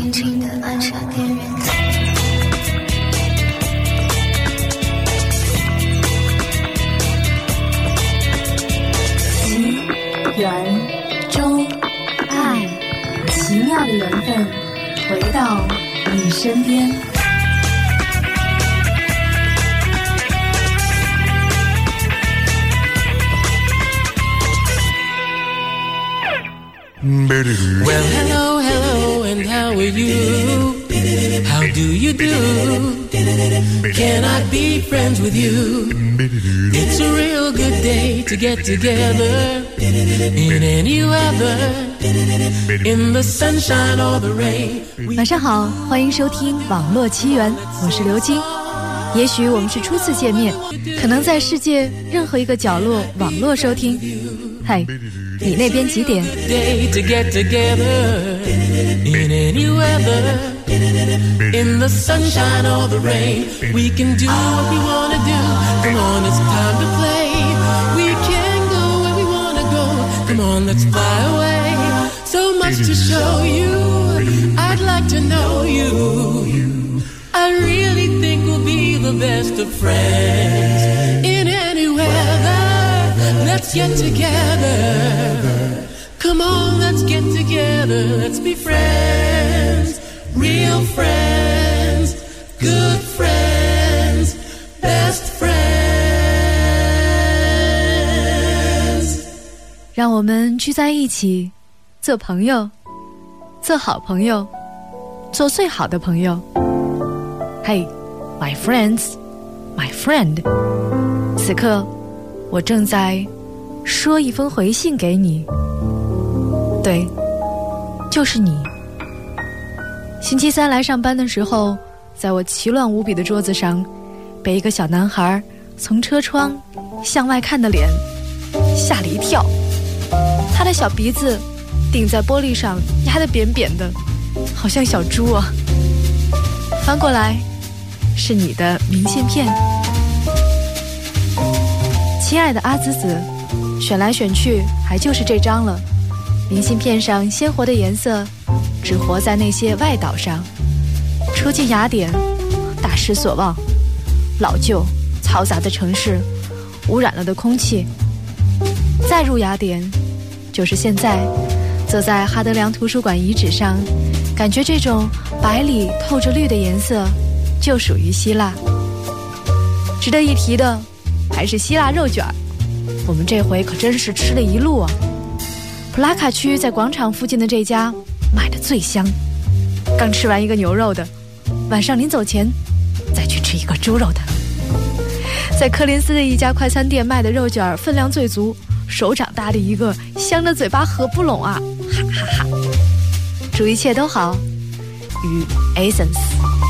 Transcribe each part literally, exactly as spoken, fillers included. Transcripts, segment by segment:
轻轻地按下电源键。 奇缘中爱，奇妙的缘分回到你身边。 Well, hello, hello, and how are you? How do you do? Can I be friends with you? It's a real good day to get together in any weather, in the sunshine or the rain. 晚上好，欢迎收听网络奇缘，我是刘晶。也许我们是初次见面，可能在世界任何一个角落网络收听。嗨，你那边几点？ To get together in any weather, in the sunshine or the rain. We can do what we want to do. Come on, it's time to play. We can go where we want to go. Come on, let's fly away. So much to show you. I'd like to know you. I really think we'll be the best of friends in any weather. Let's get together. Come on, let's get together. Let's be friends, real friends, good friends, best friends. 让我们聚在一起，做朋友，做好朋友，做最好的朋友。Hey, my friends, my friend. 此刻，我正在说一封回信给你。对，就是你。星期三来上班的时候，在我奇乱无比的桌子上，被一个小男孩从车窗向外看的脸吓了一跳。他的小鼻子顶在玻璃上，压得扁扁的，好像小猪啊。翻过来，是你的明信片。亲爱的阿紫紫，选来选去，还就是这张了。明信片上鲜活的颜色只活在那些外岛上。初进雅典，大失所望，老旧嘈杂的城市，污染了的空气。再入雅典，就是现在，坐在哈德良图书馆遗址上，感觉这种白里透着绿的颜色就属于希腊。值得一提的还是希腊肉卷，我们这回可真是吃了一路啊。普拉卡区在广场附近的这家卖的最香，刚吃完一个牛肉的，晚上临走前再去吃一个猪肉的。在科林斯的一家快餐店卖的肉卷分量最足，手掌大的一个，香的嘴巴合不拢啊，哈哈哈。祝一切都好，与 Essence。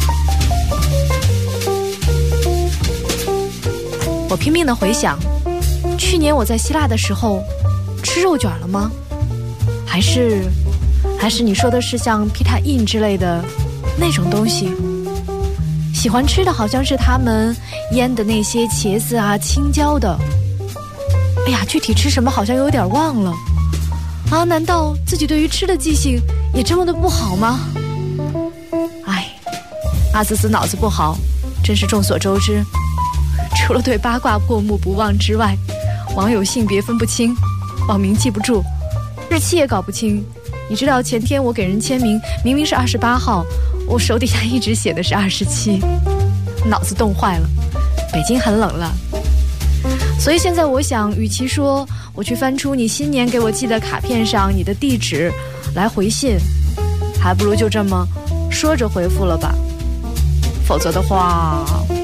我拼命地回想，去年我在希腊的时候吃肉卷了吗？还是还是你说的是像皮塔印之类的那种东西？喜欢吃的好像是他们腌的那些茄子啊、青椒的。哎呀，具体吃什么好像有点忘了啊！难道自己对于吃的记性也这么的不好吗？哎，阿紫紫脑子不好，真是众所周知。除了对八卦过目不忘之外，网友性别分不清，网名记不住，日期也搞不清。你知道前天我给人签名，明明是二十八号，我手底下一直写的是二十七，脑子冻坏了。北京很冷了，所以现在我想，与其说我去翻出你新年给我寄的卡片上你的地址来回信，还不如就这么说着回复了吧。否则的话，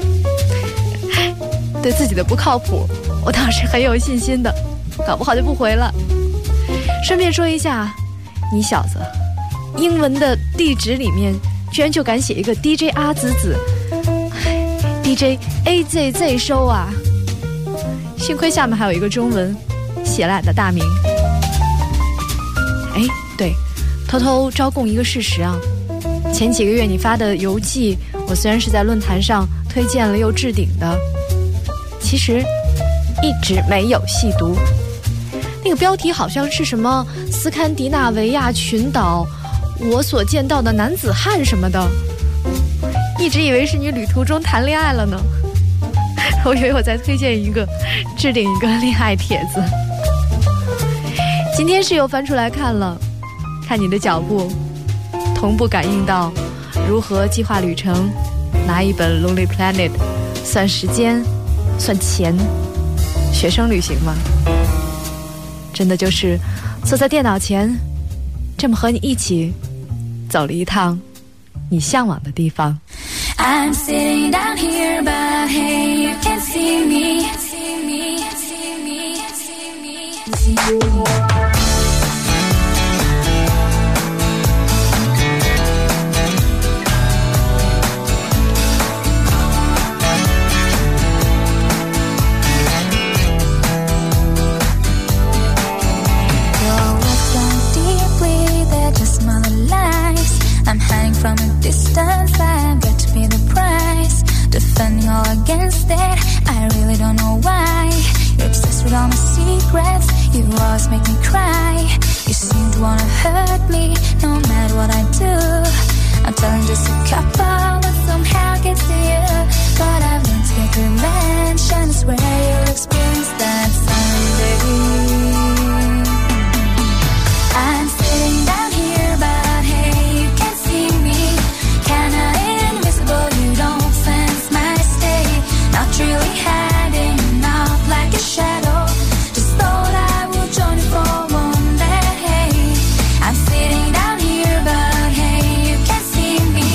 对自己的不靠谱我倒是很有信心的，搞不好就不回了。顺便说一下，你小子英文的地址里面居然就敢写一个 D J 阿紫紫， D J A Z Z 收啊，幸亏下面还有一个中文写了俺的大名。哎，对，偷偷招供一个事实啊，前几个月你发的游记，我虽然是在论坛上推荐了又置顶的，其实一直没有细读。那个标题好像是什么斯堪的纳维亚群岛我所见到的男子汉什么的，一直以为是你旅途中谈恋爱了呢。我以为我在推荐一个置顶一个恋爱帖子。今天是又翻出来看了，看你的脚步同步感应到如何计划旅程，拿一本 Lonely Planet 算时间算钱，学生旅行吗？真的就是坐在电脑前，这么和你一起走了一趟你向往的地方。 I'm sitting down here, but hey, you can't see me, see me, see me, see me, see me. I'm hiding from a distance, I've got to pay the price. Defending all against it, I really don't know why. You're obsessed with all my secrets, you always make me cry. You seem to wanna hurt me, no matter what I do. I'm telling just a couple, but somehow gets to you. But I've learned to get revenge, and I swear you'll experience that someday. I'm sitting down here, but hey, you can't see me. Kinda invisible, you don't sense my state. Not really hiding out like a shadow. Just thought I would join you for one day. I'm sitting down here, but hey, you can't see me.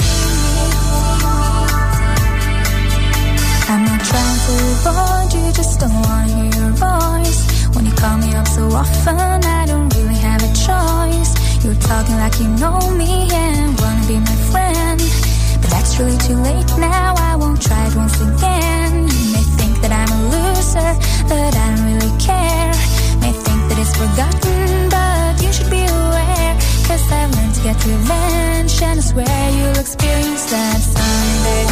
I'm not trying to avoid you, just don't wanna hear your voice. When you call me up so often, I don't really have a choice. You're talking like you know me and wanna be my friend, but that's really too late now, I won't try it once again. You may think that I'm a loser, but I don't really care. May think that it's forgotten, but you should be aware. Cause I've learned to get revenge, and I swear you'll experience that someday.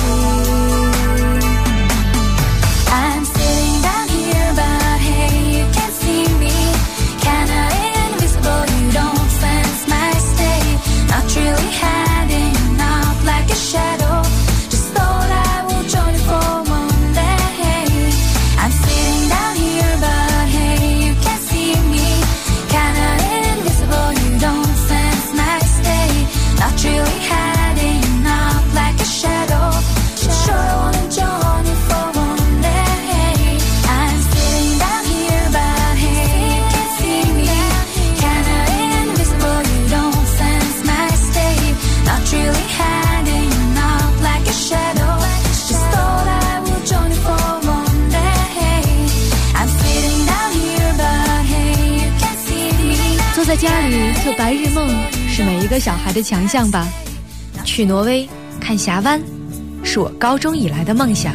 I'm sitting down here, but hey, you can't see me. Kinda invisible, you don't sense my state. Not really hiding out like a shadow. Just thought I would join you for one day. I'm sitting down here, but hey, you can't see me. Kinda invisible, you don't sense my state. Not really hiding out like a shadow. Sure I wanna join you for one day. I'm sitting down here, but hey, you can't see me. Kinda invisible, you don't sense my state. Not really hiding out like a shadow. Just thought I would join you for one day. I'm sitting down here, but hey, you can't see me. 坐在家里做白日梦是每一个小孩的强项吧。去挪威看峡湾是我高中以来的梦想。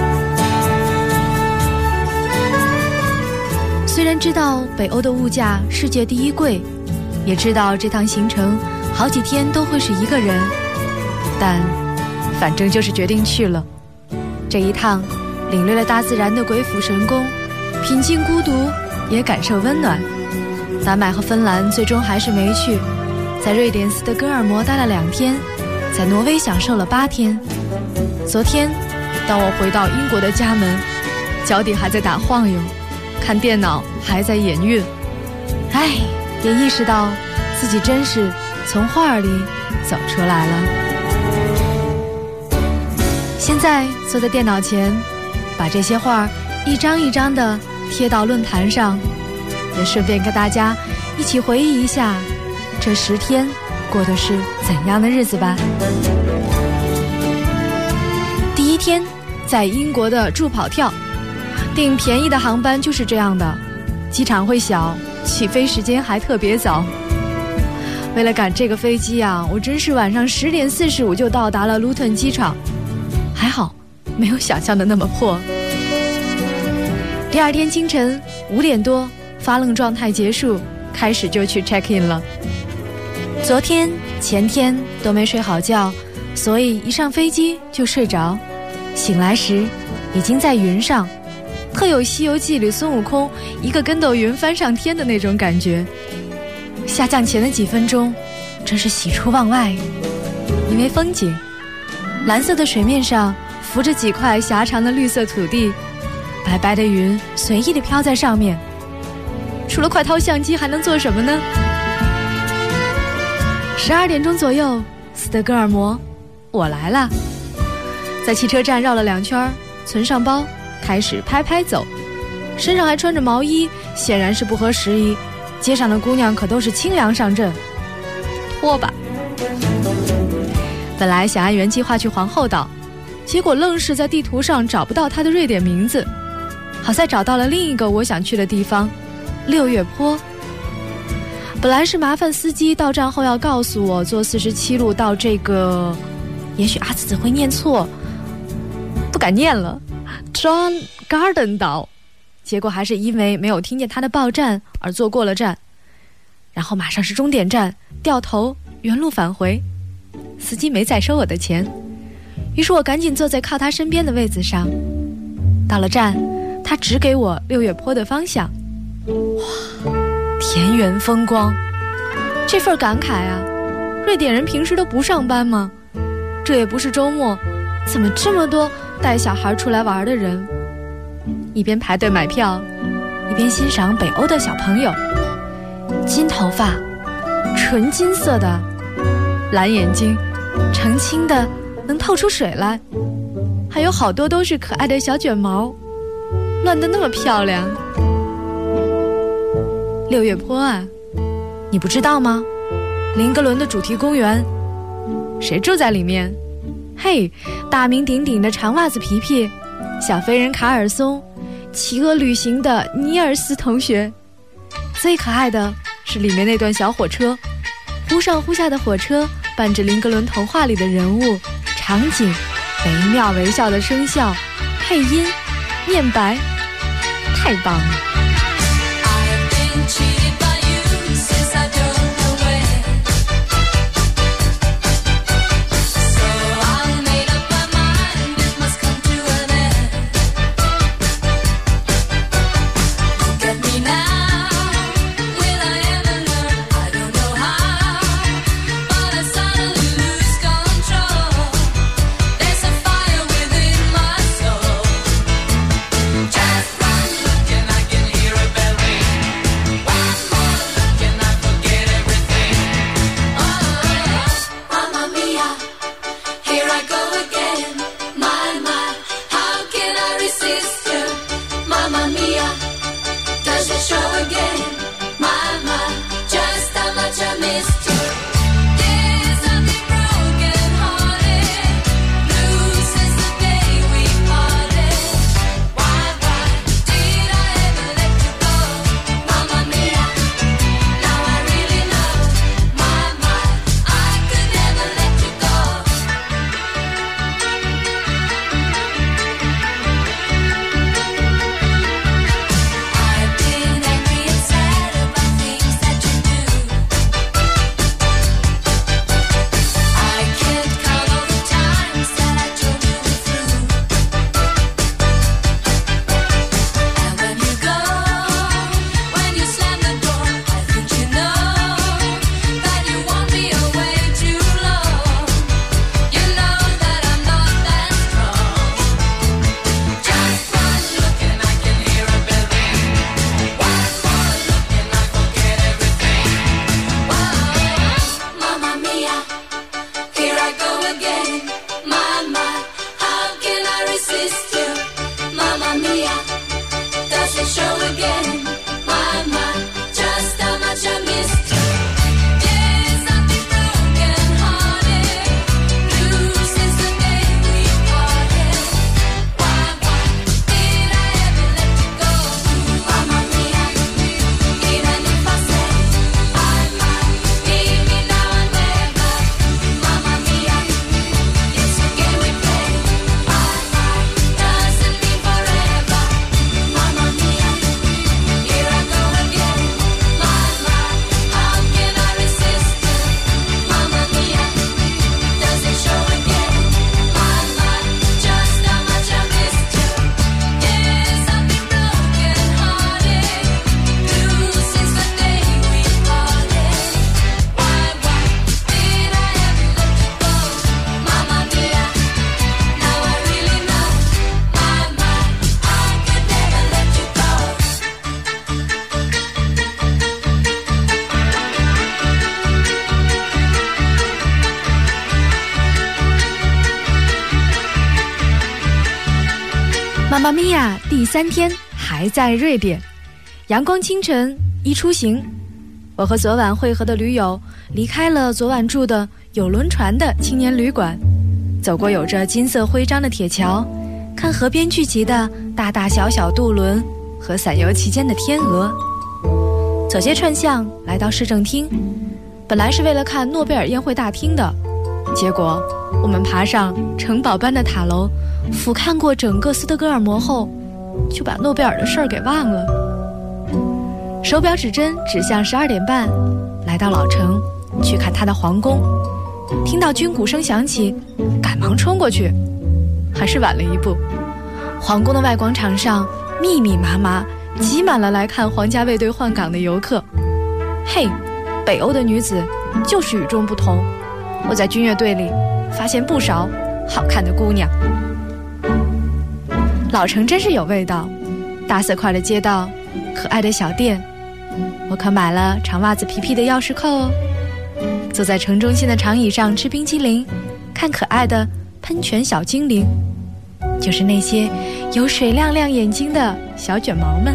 虽然知道北欧的物价世界第一贵，也知道这趟行程好几天都会是一个人，但反正就是决定去了。这一趟领略了大自然的鬼斧神工，品尽孤独，也感受温暖。丹麦和芬兰最终还是没去，在瑞典斯德哥尔摩待了两天，在挪威享受了八天。昨天当我回到英国的家门，脚底还在打晃悠，看电脑还在眼晕，唉，也意识到自己真是从画里走出来了。现在坐在电脑前，把这些画一张一张的贴到论坛上，也顺便跟大家一起回忆一下这十天过的是怎样的日子吧。第一天在英国的助跑跳，订便宜的航班就是这样的，机场会小，起飞时间还特别早。为了赶这个飞机啊，我真是晚上十点四十五就到达了卢顿机场，还好没有想象的那么破。第二天清晨五点多，发愣状态结束，开始就去 check in 了。昨天前天都没睡好觉，所以一上飞机就睡着，醒来时已经在云上，特有《西游记》里孙悟空一个跟斗云翻上天的那种感觉。下降前的几分钟， 真是喜出望外。因为风景，蓝色的水面上浮着几块狭长的绿色土地，白白的云随意地飘在上面。除了快掏相机还能做什么呢？十二点钟左右，斯德哥尔摩，我来了。在汽车站绕了两圈，存上包，开始拍拍走，身上还穿着毛衣，显然是不合时宜。街上的姑娘可都是清凉上阵，脱吧。本来想按原计划去皇后岛，结果愣是在地图上找不到它的瑞典名字。好在找到了另一个我想去的地方，六月坡。本来是麻烦司机到站后要告诉我坐四十七路到这个，也许阿紫会念错，不敢念了 John Garden 岛，结果还是因为没有听见他的报站而坐过了站，然后马上是终点站，掉头原路返回。司机没再收我的钱，于是我赶紧坐在靠他身边的位子上。到了站，他指给我六月坡的方向。哇，田园风光，这份感慨啊！瑞典人平时都不上班吗？这也不是周末，怎么这么多带小孩出来玩的人？一边排队买票，一边欣赏北欧的小朋友，金头发，纯金色的，蓝眼睛，澄清的能透出水来，还有好多都是可爱的小卷毛，乱得那么漂亮。六月坡啊，你不知道吗？林格伦的主题公园，谁住在里面？嘿，大名鼎鼎的长袜子皮皮，小飞人卡尔松，企鹅旅行的尼尔斯同学。最可爱的是里面那段小火车，忽上忽下的火车伴着林格伦童话里的人物场景，惟妙惟肖的声效、配音、念白，太棒了。 妈咪呀，第三天还在瑞典，阳光清晨，一出行，我和昨晚会合的驴友离开了昨晚住的有轮船的青年旅馆，走过有着金色徽章的铁桥，看河边聚集的大大小小渡轮和散游其间的天鹅，走街串巷来到市政厅，本来是为了看诺贝尔宴会大厅的，结果我们爬上城堡般的塔楼，俯瞰过整个斯德哥尔摩后，就把诺贝尔的事儿给忘了。手表指针指向十二点半，来到老城去看他的皇宫，听到军鼓声响起，赶忙冲过去，还是晚了一步。皇宫的外广场上密密麻麻挤满了来看皇家卫队换岗的游客。嘿，北欧的女子就是与众不同，我在军乐队里发现不少好看的姑娘。老城真是有味道，大色块的街道，可爱的小店，我可买了长袜子皮皮的钥匙扣哦。坐在城中心的长椅上吃冰激凌，看可爱的喷泉小精灵，就是那些有水亮亮眼睛的小卷毛们。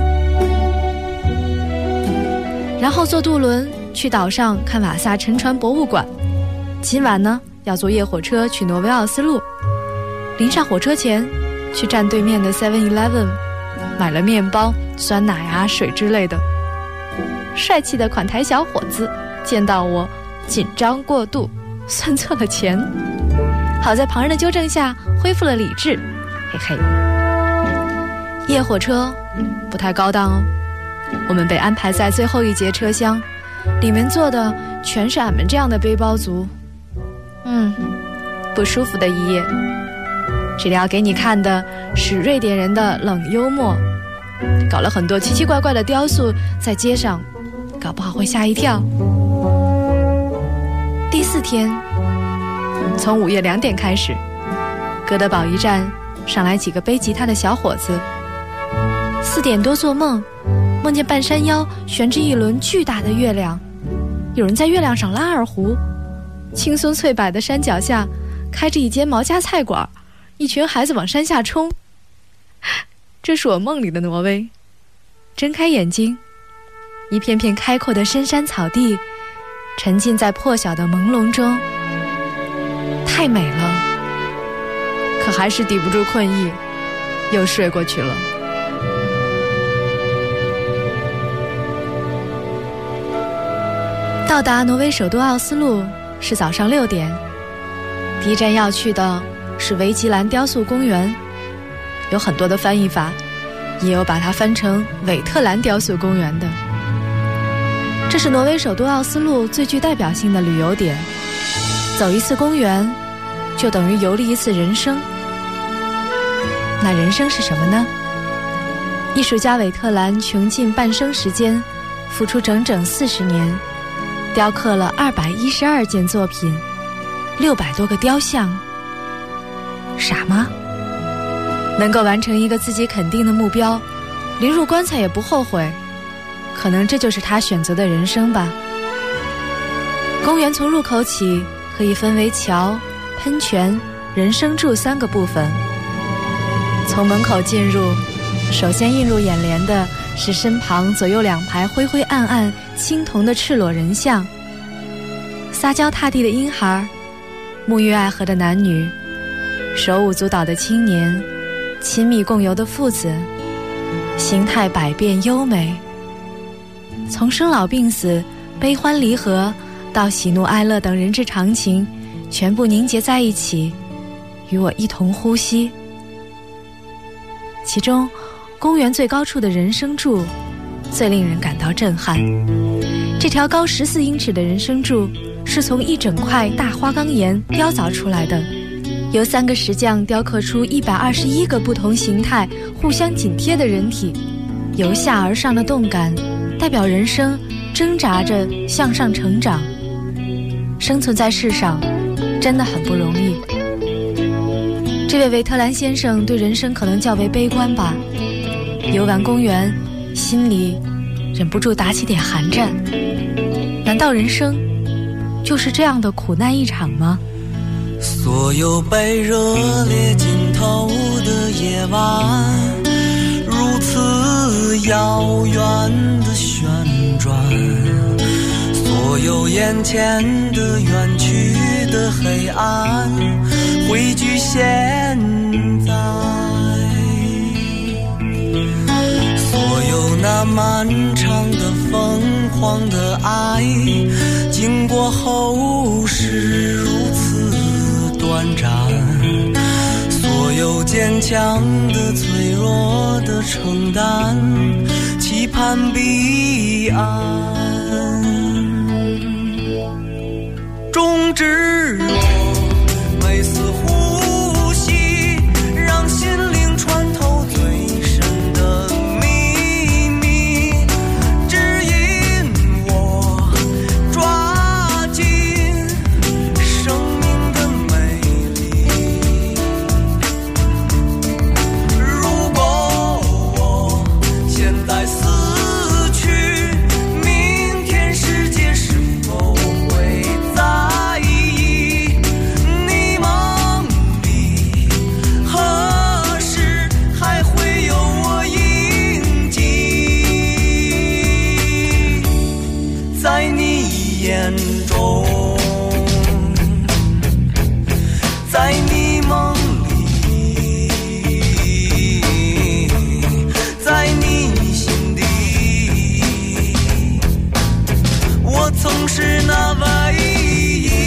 然后坐渡轮去岛上看瓦萨沉船博物馆，今晚呢要坐夜火车去挪威奥斯陆。临上火车前去站对面的 seven eleven 买了面包、酸奶啊、水之类的。帅气的款台小伙子见到我紧张过度，算错了钱，好在旁人的纠正下恢复了理智，嘿嘿。夜火车不太高档哦，我们被安排在最后一节车厢，里面坐的全是俺们这样的背包族。嗯，不舒服的一夜。这里要给你看的是瑞典人的冷幽默，搞了很多奇奇怪怪的雕塑在街上，搞不好会吓一跳。第四天，从午夜两点开始，哥德堡一站上来几个背吉他的小伙子。四点多做梦，梦见半山腰悬着一轮巨大的月亮，有人在月亮上拉二胡，青松翠柏的山脚下开着一间毛家菜馆，一群孩子往山下冲。这是我梦里的挪威。睁开眼睛，一片片开阔的深山草地，沉浸在破晓的朦胧中，太美了，可还是抵不住困意，又睡过去了。到达挪威首都奥斯陆是早上六点，第一站要去的是维吉兰雕塑公园，有很多的翻译法，也有把它翻成韦特兰雕塑公园的。这是挪威首都奥斯陆最具代表性的旅游点，走一次公园就等于游历一次人生。那人生是什么呢？艺术家韦特兰穷尽半生时间，付出整整四十年，雕刻了二百一十二件作品，六百多个雕像。傻吗？能够完成一个自己肯定的目标，临入棺材也不后悔，可能这就是他选择的人生吧。公园从入口起可以分为桥、喷泉、人生柱三个部分。从门口进入，首先映入眼帘的是身旁左右两排灰灰暗暗青铜的赤裸人像，撒娇踏地的婴孩，沐浴爱河的男女，手舞足蹈的青年，亲密共游的父子，形态百变优美。从生老病死、悲欢离合到喜怒哀乐等人之常情，全部凝结在一起，与我一同呼吸。其中公园最高处的人生柱最令人感到震撼。这条高十四英尺的人生柱是从一整块大花岗岩雕凿出来的，由三个石匠雕刻出一百二十一个不同形态互相紧贴的人体，由下而上的动感代表人生挣扎着向上成长。生存在世上真的很不容易。这位维特兰先生对人生可能较为悲观吧，游玩公园，心里忍不住打起点寒战。难道人生就是这样的苦难一场吗？ 所有被热烈浸透的夜晚，如此遥远的旋转，所有眼前的远去的黑暗汇聚现在，所有那漫长的疯狂的爱经过后是如此短暂，所有坚强的脆弱的承担期盼彼岸，终止我每次呼吸，让心灵穿透最深的秘密，指引我抓紧生命的美丽。如果我现在死去，明天世界是否会在意？你梦里何时还会有我印记？在你眼中，在你梦里，在你心底，我曾是那唯一。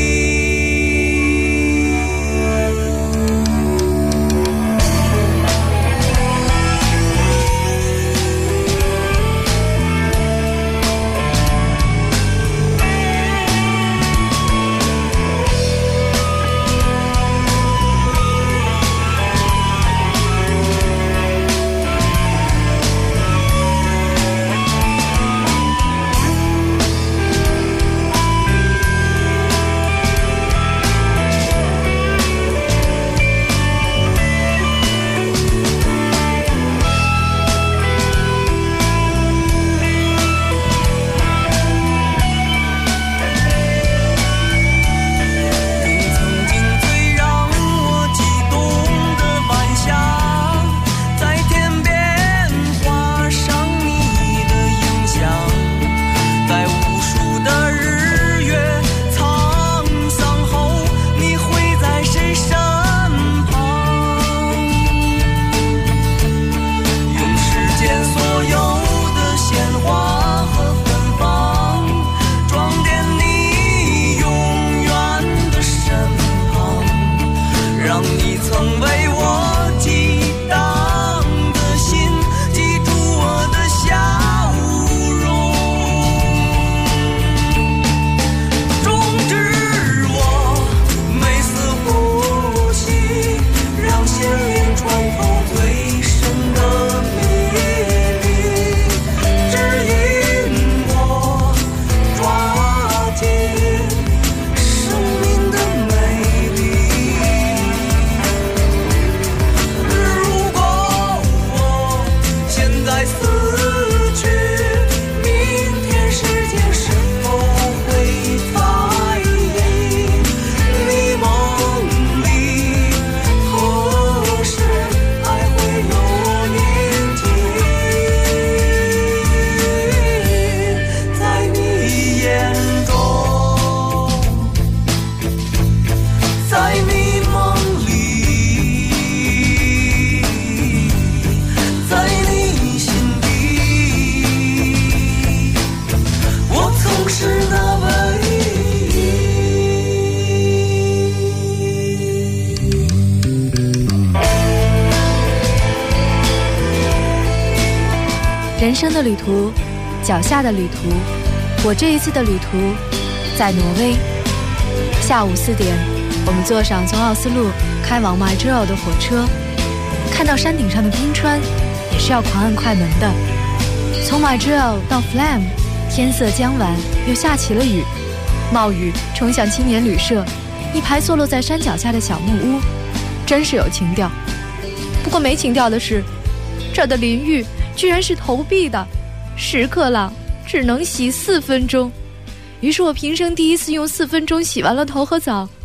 人生的旅途，脚下的旅途。我这一次的旅途在挪威。下午四点，我们坐上从奥斯陆开往 Majorelle 的火车，看到山顶上的冰川，也是要狂按快门的。从 Majorelle 到 Flam， 天色将晚，又下起了雨，冒雨冲向青年旅社，一排坐落在山脚下的小木屋，真是有情调。不过没情调的是，这儿的淋浴居然是投币的，十克朗只能洗四分钟。于是我平生第一次用四分钟洗完了头和澡，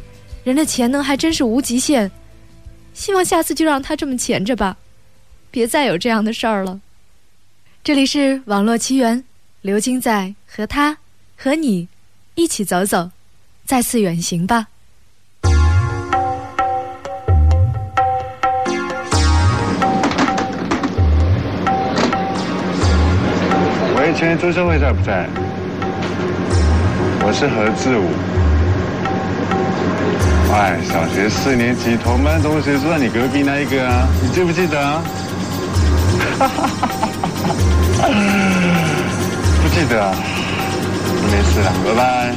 人的潜能还真是无极限，希望下次就让他这么潜着吧，别再有这样的事儿了。这里是网络奇缘，刘晶在和他和你一起走走，再次远行吧。 喂，请问朱社会在不在？我是何志武。哎，小学四年级同班同学住在你隔壁那一个啊，你记不记得啊？不记得啊，没事了，拜拜。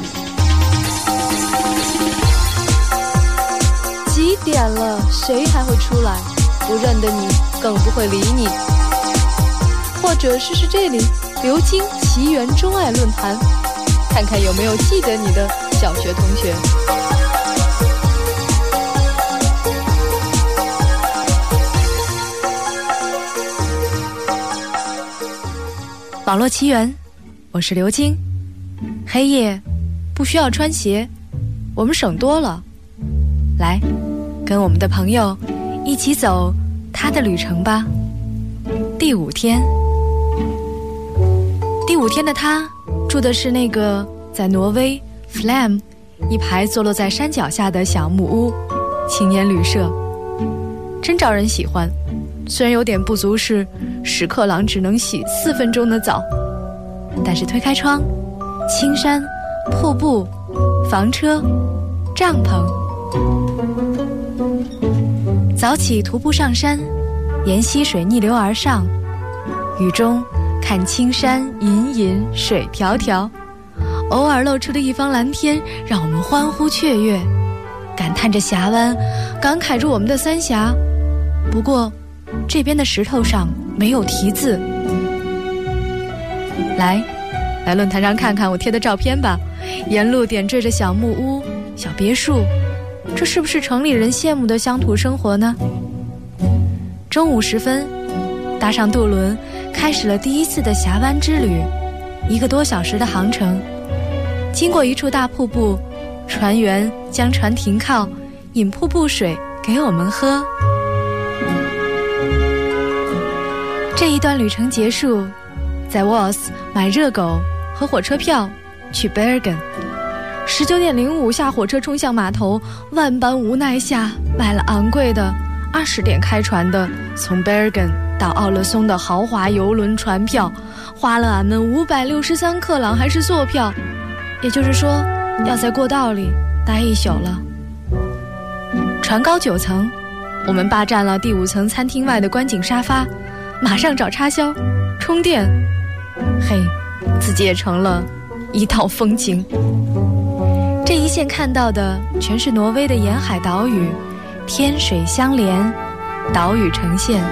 几点了，谁还会出来？不认得你，更不会理你。或者试试这里，刘晶奇缘钟爱论坛，看看有没有记得你的小学同学。网络奇缘，我是刘晶。黑夜不需要穿鞋，我们省多了。来，跟我们的朋友一起走他的旅程吧。第五天，第五天的他住的是那个在挪威 Flam 一排坐落在山脚下的小木屋青年旅社，真招人喜欢。虽然有点不足是屎壳郎只能洗四分钟的澡，但是推开窗，青山、瀑布、房车、帐篷。早起徒步上山，沿溪水逆流而上，雨中看青山隐隐水迢迢，偶尔露出的一方蓝天让我们欢呼雀跃，感叹着峡湾，感慨着我们的三峡。不过这边的石头上没有题字。来来论坛上看看我贴的照片吧，沿路点缀着小木屋、小别墅，这是不是城里人羡慕的乡土生活呢？中午时分，搭上渡轮，开始了第一次的峡湾之旅，一个多小时的航程。经过一处大瀑布，船员将船停靠，引瀑布水给我们喝。这一段旅程结束，在 Voss 买热狗和火车票去 Bergen。十九点零五下火车冲向码头，万般无奈下买了昂贵的二十点开船的从 Bergen 到奥勒松的豪华游轮船票，花了俺们五百六十三克朗，还是坐票，也就是说要在过道里待一宿了。船高九层，我们霸占了第五层餐厅外的观景沙发，马上找插销充电，嘿，自己也成了一道风景。这一线看到的全是挪威的沿海岛屿，天水相连，岛屿呈现。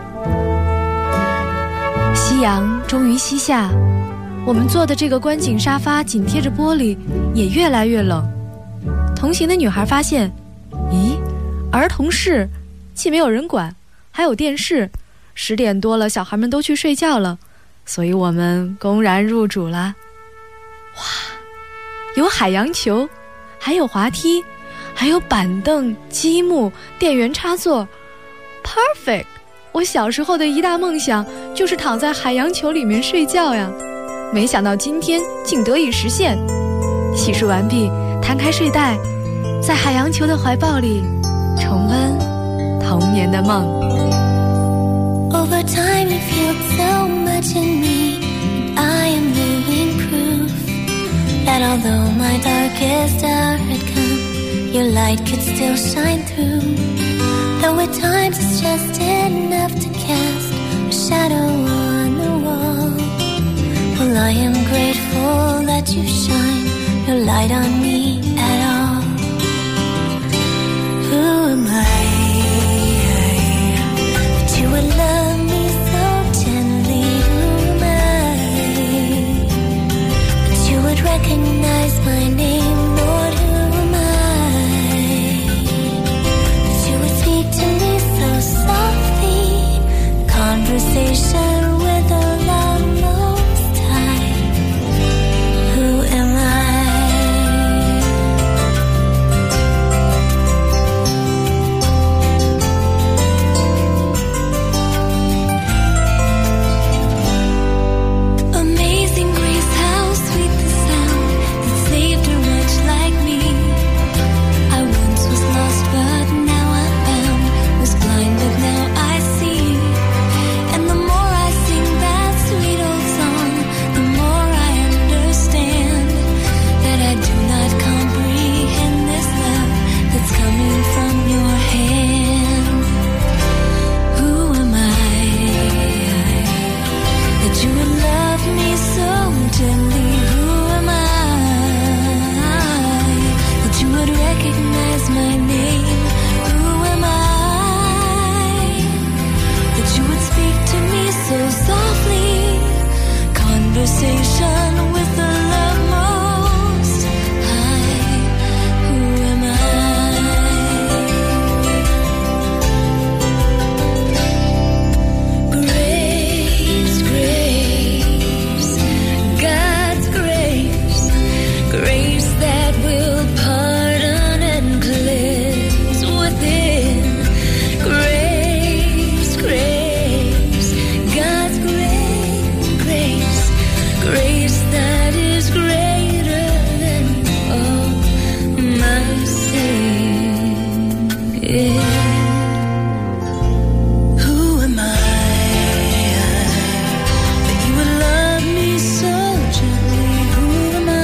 夕阳终于西下，我们坐的这个观景沙发紧贴着玻璃，也越来越冷。同行的女孩发现，咦，儿童室既没有人管，还有电视，十点多了，小孩们都去睡觉了，所以我们公然入主了。哇，有海洋球，还有滑梯，还有板凳、积木、电源插座 ，perfect！ 我小时候的一大梦想就是躺在海洋球里面睡觉呀，没想到今天竟得以实现。洗漱完毕，摊开睡袋，在海洋球的怀抱里重温童年的梦。 Over time you feel so much in me, and I am living proof that although my darkest hour had come, your light could still shine through. Though at times it's just enough to cast a shadow on the wall. Well, I am grateful that you shine your light on me at all. Who am I that you would love me so gently? Who am I that you would recognize my name? Lord, who am I that you would speak to me so softly? Conversation with the love most high. Who am I? gently. Who am I? That you would recognize my name. Who am I? That you would speak to me so softly. Conversation with the love most high. Who am I? Grace, grace, God's grace, grace that will pardon and cleanse within. Grace, grace, God's grace, grace, grace that is greater than all my sin. Yeah. Who am I that you would love me so gently? Who am I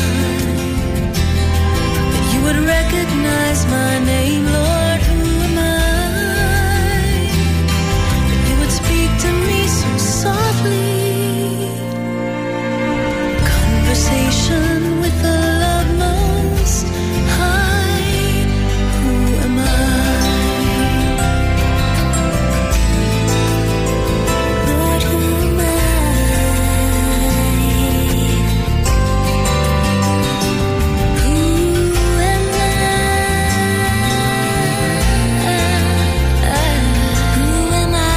that you would recognize my name, Lord? Who am I that you would speak to me so softly? Conversation with the love most high. Who am I? Lord, who am I? Who am I? Who am I?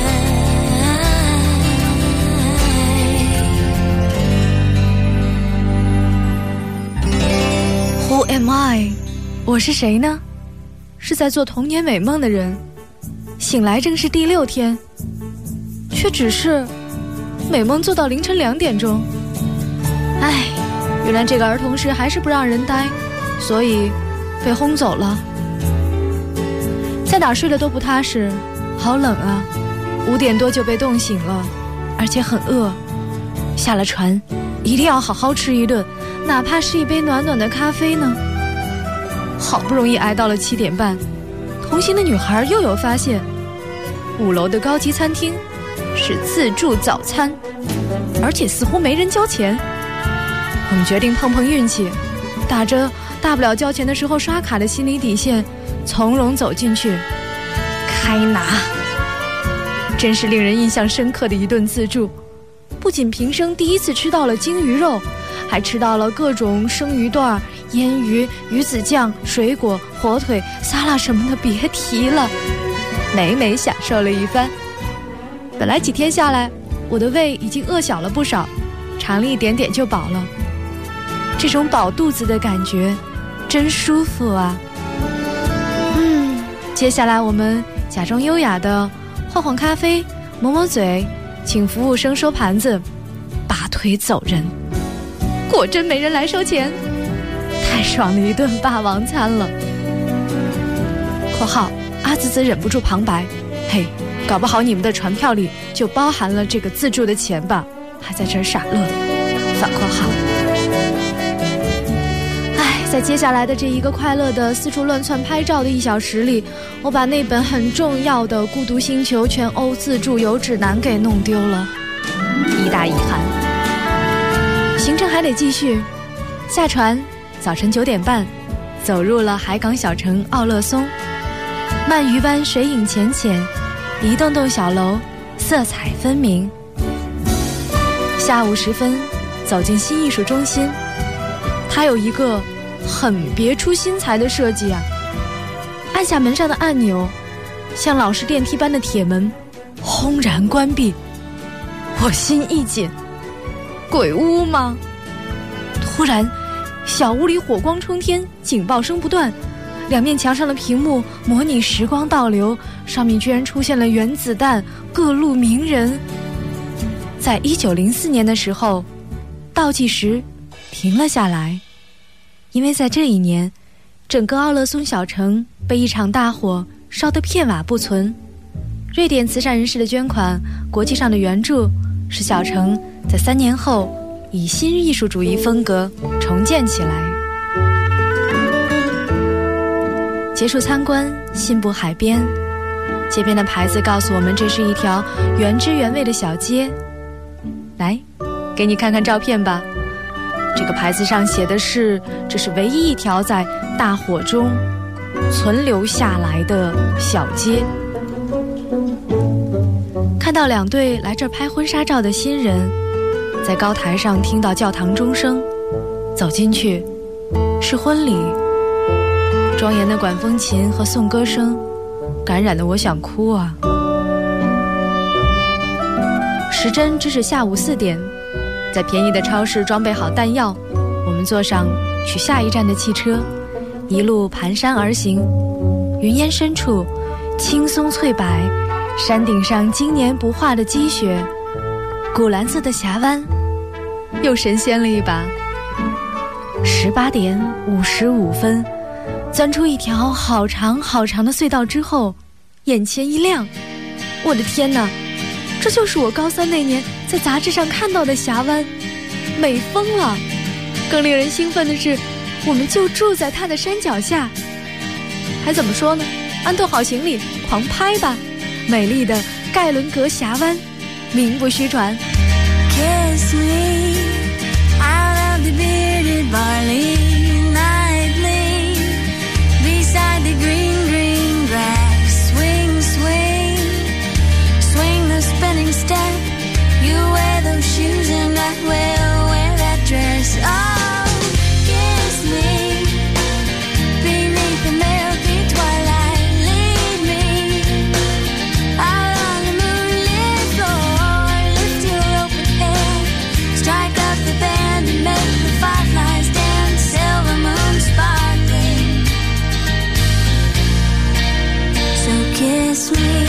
Who am I？ 我是谁呢？是在做童年美梦的人，醒来正是第六天，却只是美梦做到凌晨两点钟。唉，原来这个儿童室还是不让人待，所以被轰走了。在哪儿睡得都不踏实，好冷啊！五点多就被冻醒了，而且很饿。下了船，一定要好好吃一顿，哪怕是一杯暖暖的咖啡呢。好不容易挨到了七点半，同行的女孩又有发现，五楼的高级餐厅是自助早餐，而且似乎没人交钱。我们决定碰碰运气，打着大不了交钱的时候刷卡的心理底线，从容走进去，开拿。真是令人印象深刻的一顿自助，不仅平生第一次吃到了鲸鱼肉，还吃到了各种生鱼段、腌鱼、鱼子酱、水果、火腿、沙拉什么的，别提了，美美享受了一番。本来几天下来，我的胃已经饿小了不少，尝了一点点就饱了。这种饱肚子的感觉真舒服啊。嗯，接下来我们假装优雅的晃晃咖啡，抹抹嘴，请服务生收盘子，拔腿走人。果真没人来收钱，太爽的一顿霸王餐了。括号阿滋滋忍不住旁白，嘿，搞不好你们的船票里就包含了这个自助的钱吧，还在这儿傻乐。反括号。哎，在接下来的这一个快乐的四处乱窜拍照的一小时里，我把那本很重要的《孤独星球全欧自助游指南》给弄丢了，一大遗憾。行程还得继续，下船，早晨九点半，走入了海港小城奥勒松。鳗鱼湾水影浅浅，一栋栋小楼色彩分明。下午时分，走进新艺术中心，它有一个很别出心裁的设计啊！按下门上的按钮，像老式电梯般的铁门轰然关闭，我心一紧，鬼屋吗？突然，小屋里火光冲天，警报声不断，两面墙上的屏幕模拟时光倒流，上面居然出现了原子弹、各路名人。在一九零四年的时候，倒计时停了下来，因为在这一年，整个奥勒松小城被一场大火烧得片瓦不存。瑞典慈善人士的捐款，国际上的援助，使小城在三年后以新艺术主义风格重建起来。结束参观，信步海边，街边的牌子告诉我们，这是一条原汁原味的小街。来， 给你看看照片吧。这个牌子上写的是，这是唯一一条在大火中存留下来的小街。看到两对来这儿拍婚纱照的新人，在高台上听到教堂钟声，走进去，是婚礼。庄严的管风琴和颂歌声，感染得我想哭啊。时针只是下午四点，在便宜的超市装备好弹药，我们坐上去下一站的汽车，一路蹒跚而行。云烟深处，青松翠柏，山顶上经年不化的积雪，古蓝色的峡湾，又神仙了一把。十八点五十五分，钻出一条好长好长的隧道之后，眼前一亮，我的天哪，这就是我高三那年在杂志上看到的峡湾，美疯了！更令人兴奋的是，我们就住在它的山脚下。还怎么说呢？安顿好行李，狂拍吧！美丽的盖伦格峡湾，名不虚传。 Kiss me out of the bearded barley nightly, beside the green, green grass. Swing, swing, swing the spinning step. You wear those shoes and I will wear that dress. Oh, kiss me beneath the milky twilight. Lead me out on the moonlit floor. Lift your open head, strike up the band and make the fireflies dance. Silver moon sparkling. So kiss me.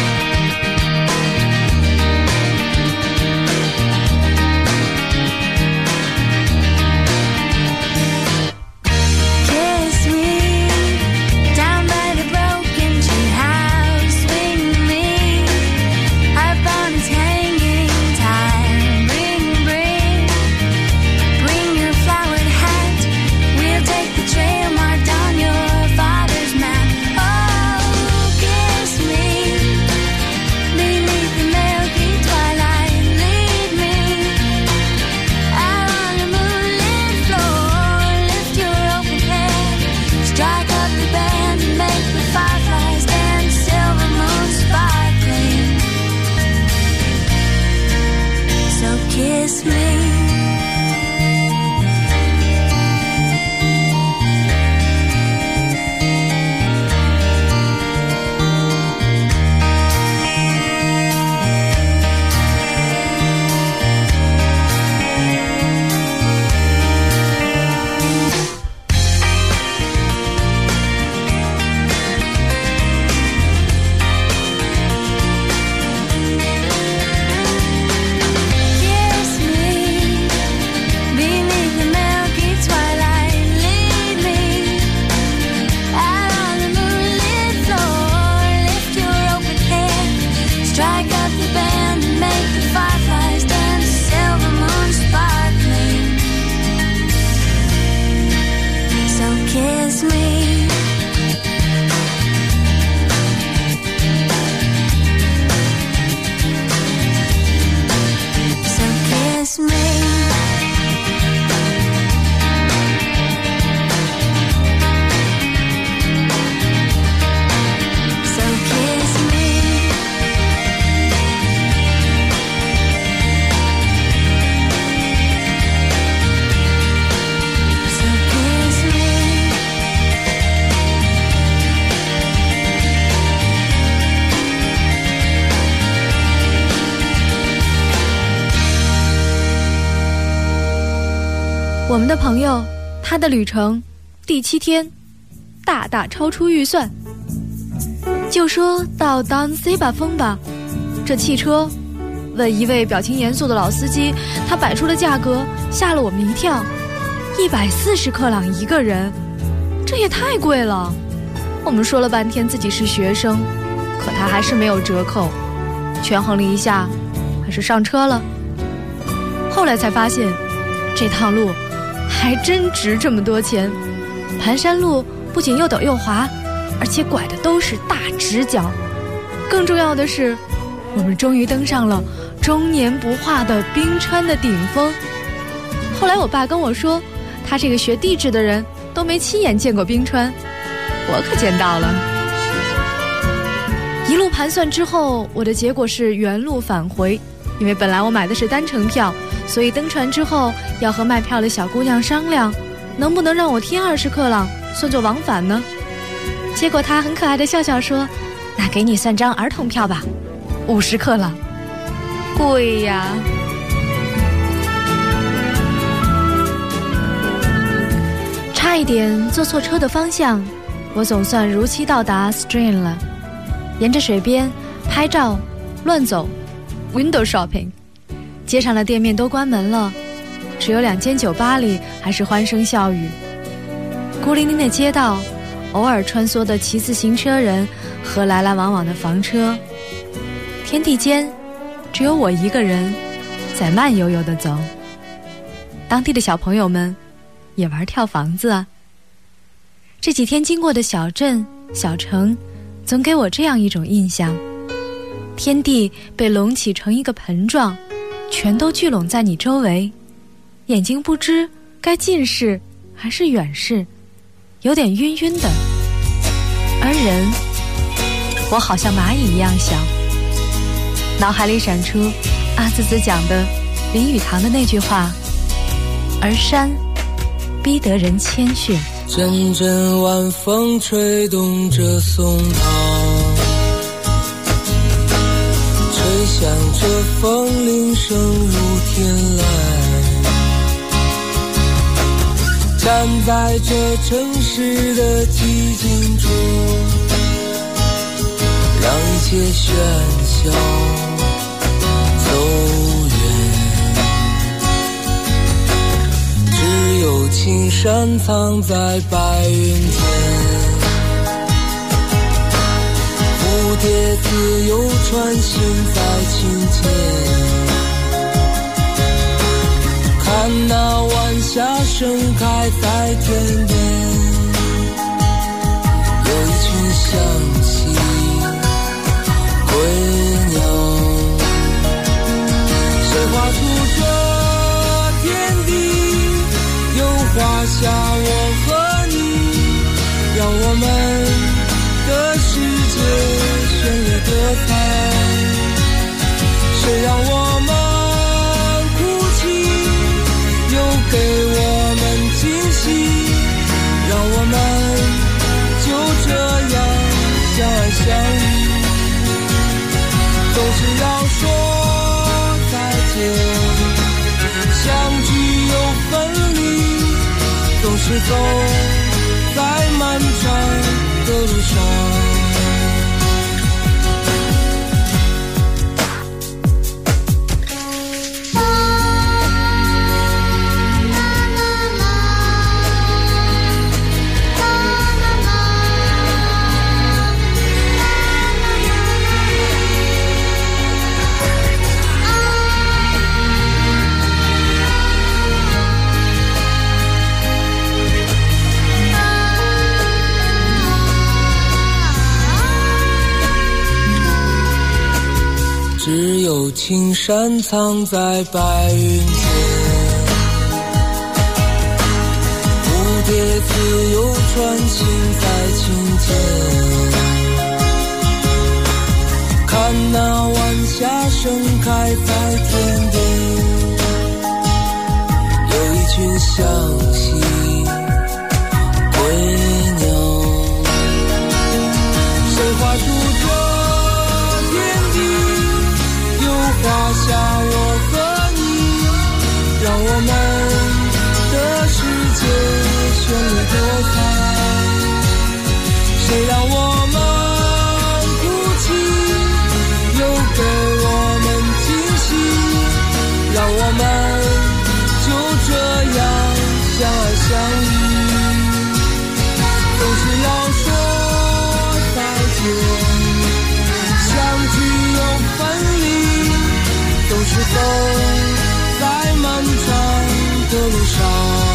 Kiss me down by the broken tree house. Swing me up on its hanging tire. Bring, bring, bring your flowered hat. We'll take the trail marked on your father's map. Oh, kiss me beneath the milky twilight. Lead me out on the moonlit floor. Lift your open head, strike up the band and make the fireflies dance. Silver moon sparkling. So kiss me. Kiss me beneath the milky twilight. Lead me out on the moonlit floor. Lift your open head, strike up the band and make the fireflies dance. Silver moon sparkling. So kiss me. So kiss me. So kiss me. So kiss me. 我们的朋友，他的旅程第七天，大大超出预算。就说到 Don Seba 峰吧，这汽车，问一位表情严肃的老司机，他摆出的价格吓了我们一跳，一百四十克朗一个人，这也太贵了。我们说了半天自己是学生，可他还是没有折扣，权衡了一下，还是上车了。后来才发现，这趟路还真值这么多钱。盘山路不仅又陡又滑，而且拐的都是大直角。更重要的是，我们终于登上了终年不化的冰川的顶峰。后来我爸跟我说，他这个学地质的人都没亲眼见过冰川，我可见到了。一路盘算之后，我的结果是原路返回，因为本来我买的是单程票，所以登船之后要和卖票的小姑娘商量，能不能让我添二十克朗，算作往返呢？结果她很可爱的笑笑说，那给你算张儿童票吧，五十克朗。贵呀！差一点坐错车的方向，我总算如期到达 Strain 了。沿着水边拍照乱走 window shopping， 街上的店面都关门了，只有两间酒吧里还是欢声笑语。孤零零的街道，偶尔穿梭的骑自行车人和来来往往的房车，天地间只有我一个人在慢悠悠地走。当地的小朋友们也玩跳房子啊。这几天经过的小镇小城总给我这样一种印象，天地被隆起成一个盆状，全都聚拢在你周围，眼睛不知该近视还是远视，有点晕晕的。而人，我好像蚂蚁一样小。脑海里闪出阿滋滋讲的林语堂的那句话，而山逼得人谦逊。 阵阵晚风吹动着松涛，吹响着风铃声如天籁，站在这城市的寂静中，让一切喧嚣走远，只有青山藏在白云间，蝴蝶自由穿行在清间，看那晚霞盛开在天边，有一群向西归鸟，谁画出这天地，又画下我和你，让我们的世界绚丽多彩。谁让我们哭泣，又给我们惊喜，让我们就这样相爱相依。总是要说再见，相聚又分离，总是走在漫长的路上。只有青山藏在白云间，蝴蝶自由穿行在清间，看那晚霞盛开在天边，有一群向西归鸟，谁画出这天地，画下我和你，让我们的世界绚丽多彩。谁让我们哭泣，又给我们惊喜，让我们就这样相爱相依。总是要说再见，相聚又分离，总是走在漫长的路上。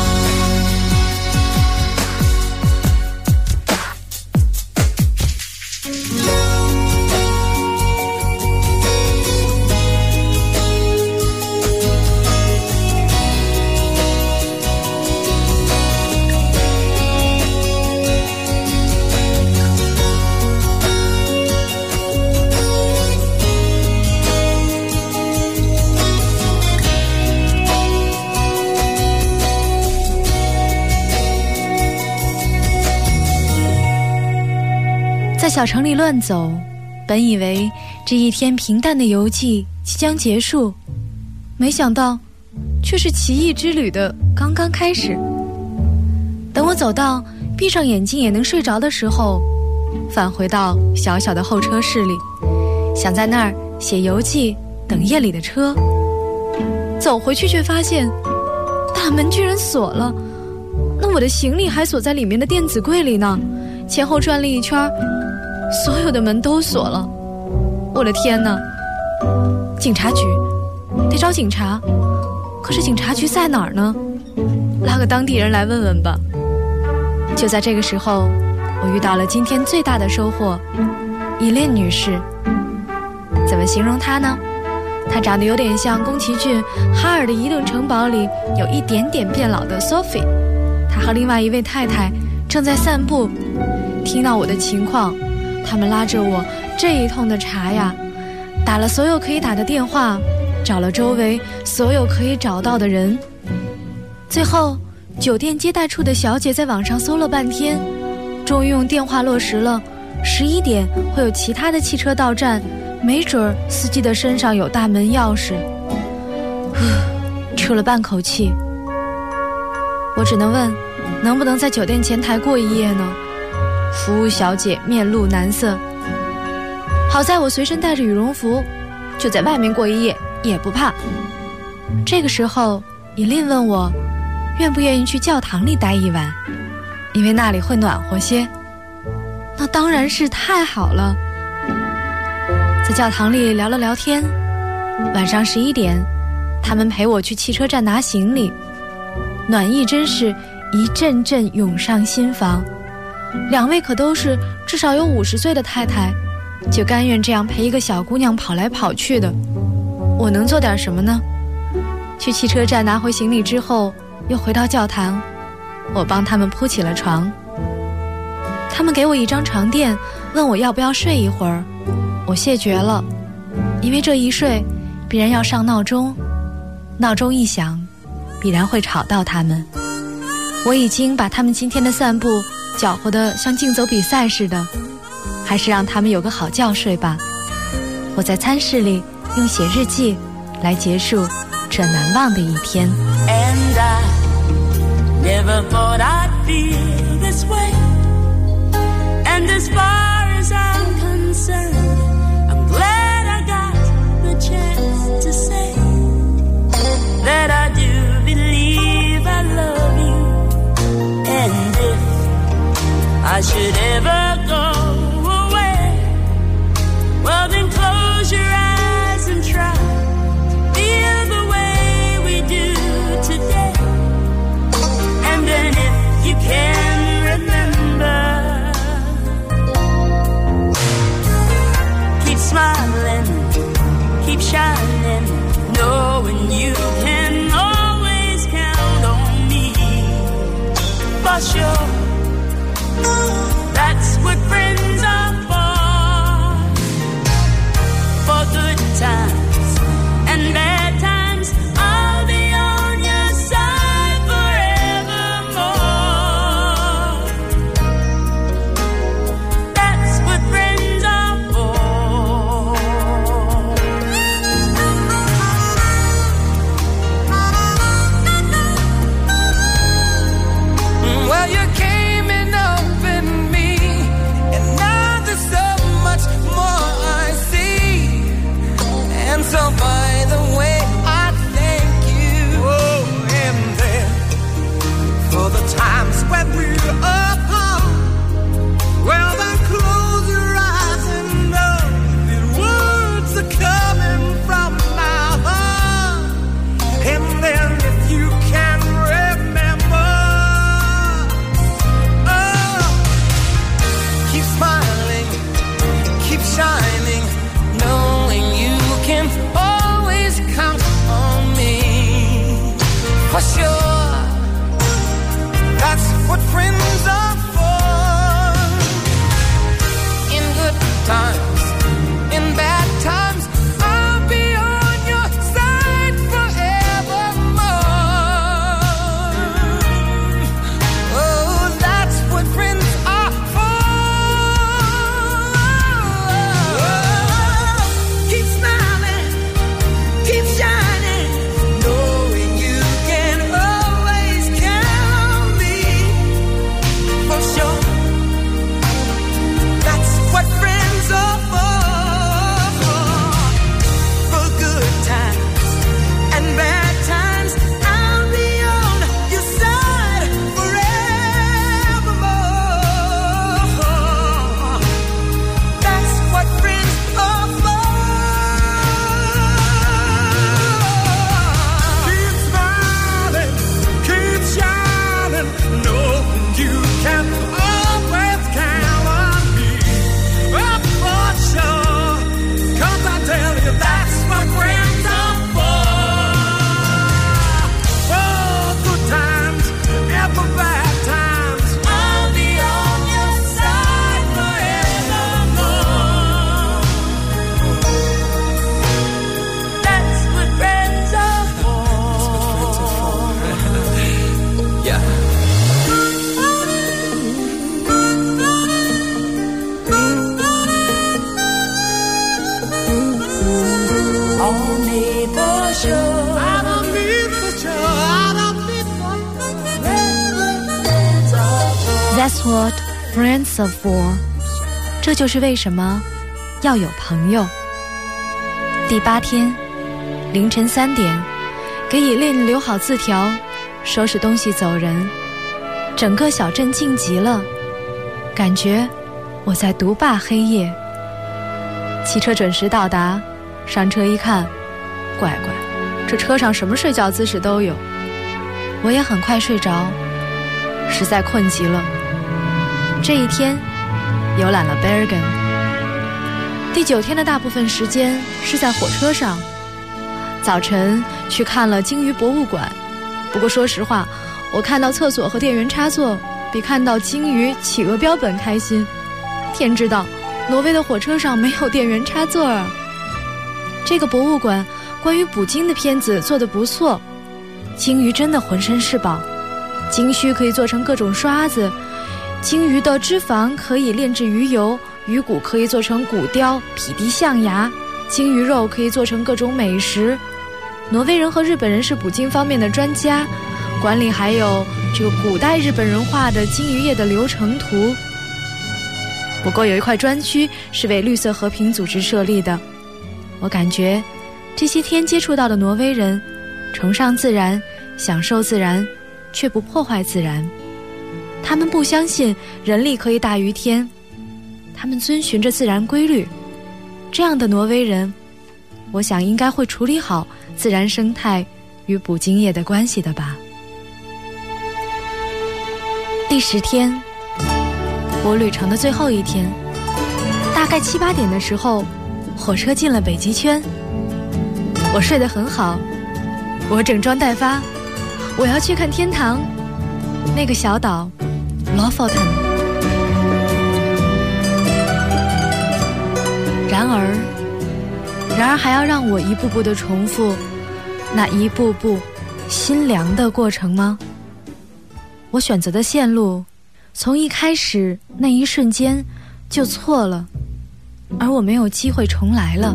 在小城里乱走，本以为这一天平淡的游记即将结束，没想到却是奇异之旅的刚刚开始。等我走到闭上眼睛也能睡着的时候，返回到小小的候车室里，想在那儿写游记等夜里的车。走回去却发现大门居然锁了，那我的行李还锁在里面的电子柜里呢。前后转了一圈，所有的门都锁了。我的天哪！警察局，得找警察，可是警察局在哪儿呢？拉个当地人来问问吧。就在这个时候，我遇到了今天最大的收获，伊琳女士。怎么形容她呢？她长得有点像宫崎骏《哈尔的移动城堡》里有一点点变老的 Sophie。她和另外一位太太正在散步，听到我的情况，他们拉着我这一通的查呀，打了所有可以打的电话，找了周围所有可以找到的人。最后酒店接待处的小姐在网上搜了半天，终于用电话落实了十一点会有其他的汽车到站，没准司机的身上有大门钥匙。出了半口气，我只能问能不能在酒店前台过一夜呢？服务小姐面露难色。好在我随身带着羽绒服，就在外面过一夜也不怕。这个时候伊琳问我愿不愿意去教堂里待一晚，因为那里会暖和些。那当然是太好了。在教堂里聊了聊天，晚上十一点他们陪我去汽车站拿行李，暖意真是一阵阵涌上心房。两位可都是至少有五十岁的太太，就甘愿这样陪一个小姑娘跑来跑去的。我能做点什么呢？去汽车站拿回行李之后，又回到教堂，我帮他们铺起了床。他们给我一张床垫，问我要不要睡一会儿。我谢绝了，因为这一睡必然要上闹钟，闹钟一响必然会吵到他们。我已经把他们今天的散步搅和得像竞走比赛似的，还是让他们有个好觉睡吧。我在餐室里用写日记来结束这难忘的一天。 And I never thought I'd feel this way. And as far as I'm concerned, I'm glad I got the chance to say that I do believe I love you. And if I should ever go away, well then close your eyes and try to feel the way we do today. And then if you can remember, keep smiling, keep shining, knowing you can always count on me. For sure, that's what friends are for. For good times and bad times, I'll be on your side forevermore. That's what friends are for. Well, you came and opened me, and now there's so much more I see. And so by the way, I thank you. Oh, and then for the times when we're apart, well then close your eyes and know that words are coming from my heart. And then if you can remember, oh, keep smiling, keep shining, knowing you can always count on me. For sure, that's what friends are for. In good times, in bad times, I'll be on your side forevermore. Oh, that's what friends are for. That's what friends are for. 这就是为什么要有朋友。第八天凌晨三点，给以琳留好字条，收拾东西走人。整个小镇静极了，感觉我在独霸黑夜。汽车准时到达，上车一看，乖乖，这车上什么睡觉姿势都有。我也很快睡着，实在困极了。这一天游览了 Bergen。 第九天的大部分时间是在火车上。早晨去看了鲸鱼博物馆，不过说实话，我看到厕所和电源插座比看到鲸鱼企鹅标本开心。天知道挪威的火车上没有电源插座啊。这个博物馆关于捕鲸的片子做得不错，鲸鱼真的浑身是宝。鲸须可以做成各种刷子，鲸鱼的脂肪可以炼制鱼油，鱼骨可以做成骨雕、匹敌象牙，鲸鱼肉可以做成各种美食。挪威人和日本人是捕鲸方面的专家，馆里还有这个古代日本人画的鲸鱼业的流程图。不过有一块专区是为绿色和平组织设立的。我感觉这些天接触到的挪威人崇尚自然，享受自然，却不破坏自然。他们不相信人力可以大于天，他们遵循着自然规律。这样的挪威人，我想应该会处理好自然生态与捕鲸业的关系的吧。第十天，我旅程的最后一天，大概七八点的时候，火车进了北极圈。我睡得很好，我整装待发，我要去看天堂，那个小岛 Lofoten。 然而然而还要让我一步步地重复那一步步心凉的过程吗？我选择的线路从一开始那一瞬间就错了，而我没有机会重来了。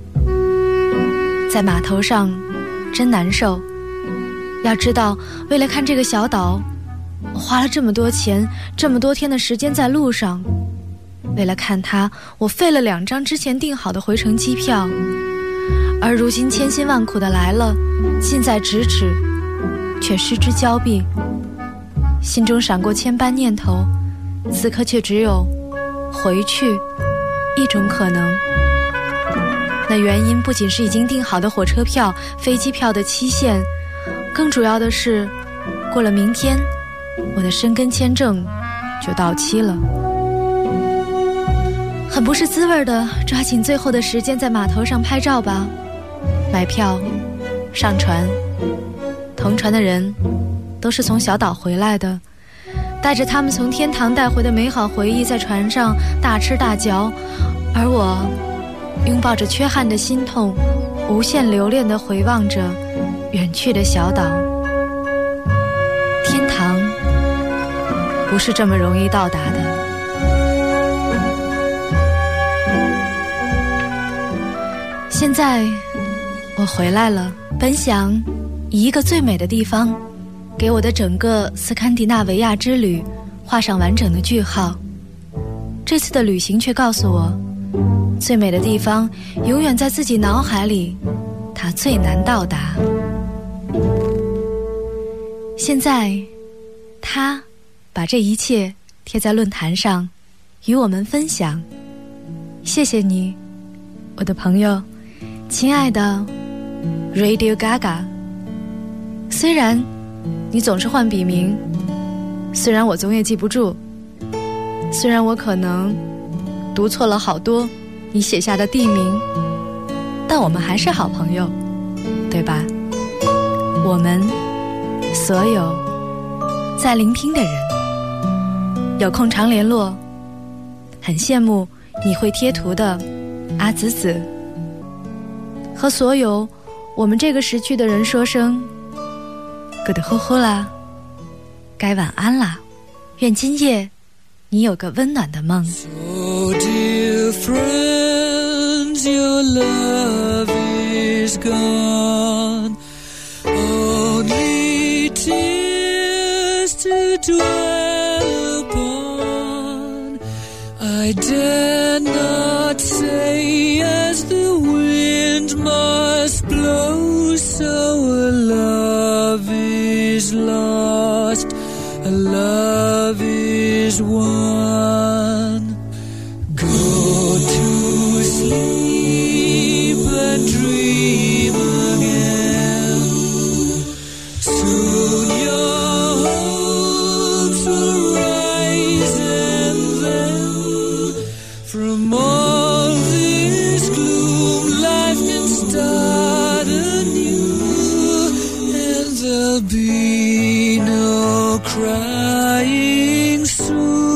在码头上真难受，要知道为了看这个小岛，我花了这么多钱，这么多天的时间在路上。为了看它，我费了两张之前订好的回程机票，而如今千辛万苦的来了，近在咫尺，却失之交臂。心中闪过千般念头，此刻却只有回去一种可能。那原因不仅是已经订好的火车票、飞机票的期限，更主要的是，过了明天，我的申根签证就到期了。很不是滋味的，抓紧最后的时间在码头上拍照吧，买票，上船。同船的人都是从小岛回来的，带着他们从天堂带回的美好回忆，在船上大吃大嚼，而我拥抱着缺憾的心痛，无限留恋地回望着远去的小岛。天堂不是这么容易到达的。现在我回来了，本想以一个最美的地方给我的整个斯堪的纳维亚之旅画上完整的句号。这次的旅行却告诉我，最美的地方永远在自己脑海里，它最难到达。现在他把这一切贴在论坛上与我们分享。谢谢你，我的朋友，亲爱的 Radio Gaga。 虽然你总是换笔名，虽然我总也记不住，虽然我可能读错了好多你写下的地名，但我们还是好朋友，对吧？我们所有在聆听的人，有空常联络。很羡慕你会贴图的阿紫紫，和所有我们这个时区的人说声 good 呼呼啦，该晚安啦，愿今夜你有个温暖的梦。 So dear friends, your love is gone, only tears to dwell upon. I dare not say as the wind must blow, so a love is lost, a love is won. Go to sleep and dream again. Soon your hopes will rise, and then from all this gloom life can start anew, and there'll be no crying soon.